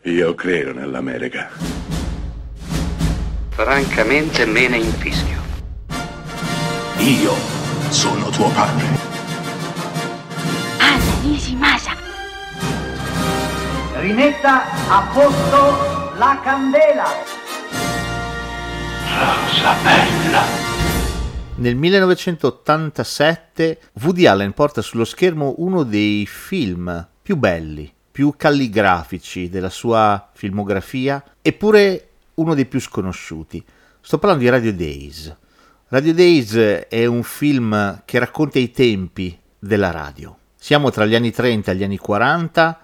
Io credo nell'America. Francamente me ne infischio. Io sono tuo padre. Anna Nishimasa. Rimetta a posto la candela. Rosa bella. Nel 1987 Woody Allen porta sullo schermo uno dei film più belli, più calligrafici della sua filmografia, eppure uno dei più sconosciuti. Sto parlando di Radio Days. Radio Days è un film che racconta i tempi della radio. Siamo tra gli anni 30 e gli anni 40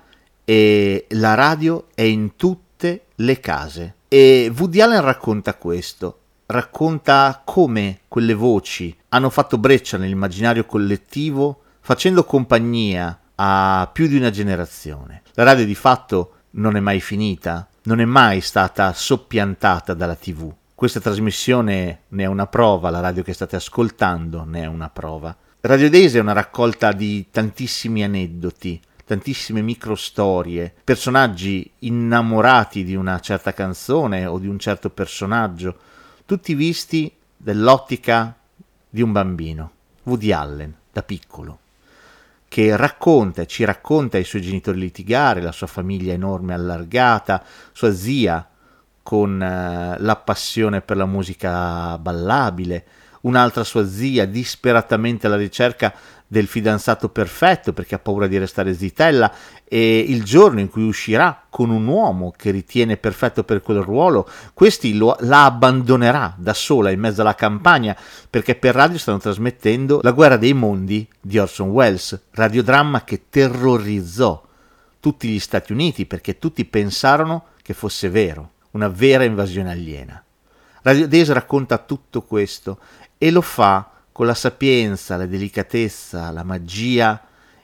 e la radio è in tutte le case. E Woody Allen racconta questo. Racconta come quelle voci hanno fatto breccia nell'immaginario collettivo, facendo compagnia a più di una generazione. La radio di fatto non è mai finita, non è mai stata soppiantata dalla TV. Questa trasmissione ne è una prova, la radio che state ascoltando ne è una prova. Radio Days è una raccolta di tantissimi aneddoti, tantissime microstorie, personaggi innamorati di una certa canzone o di un certo personaggio, tutti visti dall'ottica di un bambino, Woody Allen, da piccolo, che ci racconta i suoi genitori litigare, la sua famiglia enorme allargata, sua zia con la passione per la musica ballabile, un'altra sua zia disperatamente alla ricerca del fidanzato perfetto perché ha paura di restare zitella, e il giorno in cui uscirà con un uomo che ritiene perfetto per quel ruolo, questi la abbandonerà da sola in mezzo alla campagna perché per radio stanno trasmettendo La guerra dei mondi di Orson Welles, radiodramma che terrorizzò tutti gli Stati Uniti perché tutti pensarono che fosse vero, una vera invasione aliena. Radio Days racconta tutto questo e lo fa con la sapienza, la delicatezza, la magia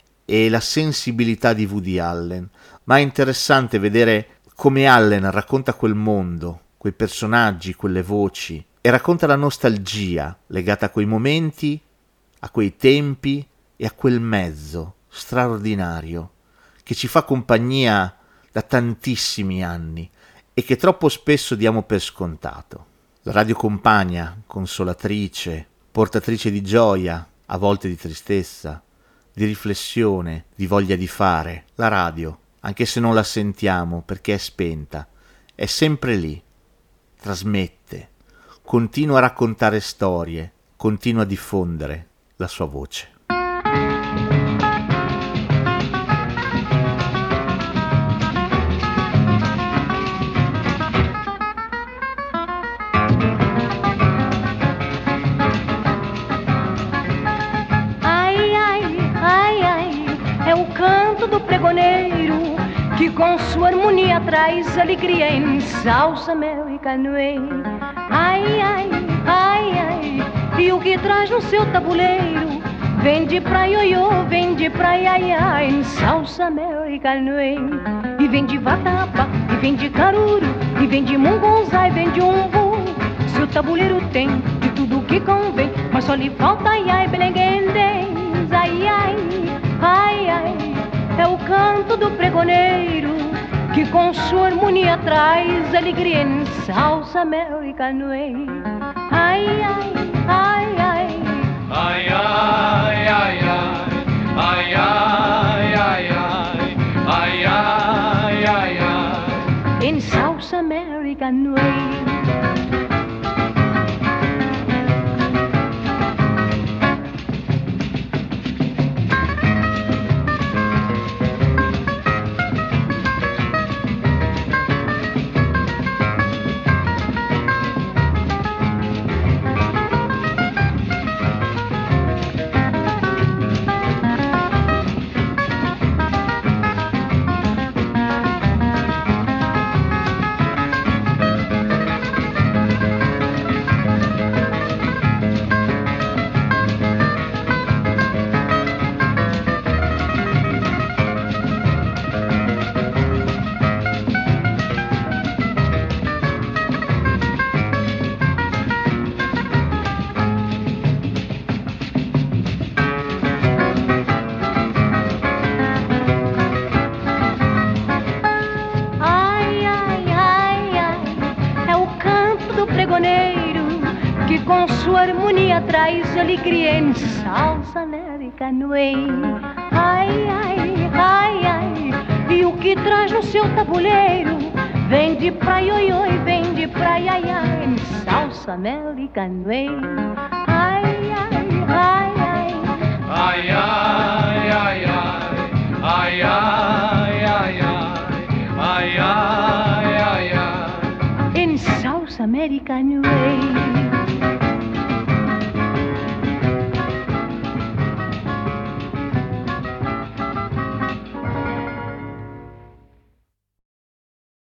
e la sensibilità di Woody Allen. Ma è interessante vedere come Allen racconta quel mondo, quei personaggi, quelle voci, e racconta la nostalgia legata a quei momenti, a quei tempi e a quel mezzo straordinario che ci fa compagnia da tantissimi anni e che troppo spesso diamo per scontato. La radio compagna, consolatrice, portatrice di gioia, a volte di tristezza, di riflessione, di voglia di fare. La radio, anche se non la sentiamo perché è spenta, è sempre lì, trasmette, continua a raccontare storie, continua a diffondere la sua voce. Que com sua harmonia traz alegria, ensalça mel e canoeiro. Ai, ai, ai, ai, e o que traz no seu tabuleiro? Vem de pra ioiô, vem de pra iaiá, ensalça mel e canoeiro. E vem de vatapa, e vem de caruru, e vem de mungunzá, e vem de umbu. Seu tabuleiro tem de tudo que convém, mas só lhe falta ai, ai, belenguendens. Ai, ai, ai, ai, é o canto do pregoneiro que com sua harmonia traz alegria, ensalça mel e canoeiro. Ai, ai, ai, ai, ai, ai, ai, ai, ai, ai, ai, ai, ai, ai, ai, ensalça mel e canoeiro. com sua harmonia traz alegria em salsa American Way. Ai, ai, ai, ai, e o que traz no seu tabuleiro vem de praia, oi, oi, vem de praia, ai, ai, em salsa American Way. Ai, ai, ai, ai, ai, ai, ai, ai, ai, ai, ai, ai, ai, ai, ai, in South American Way.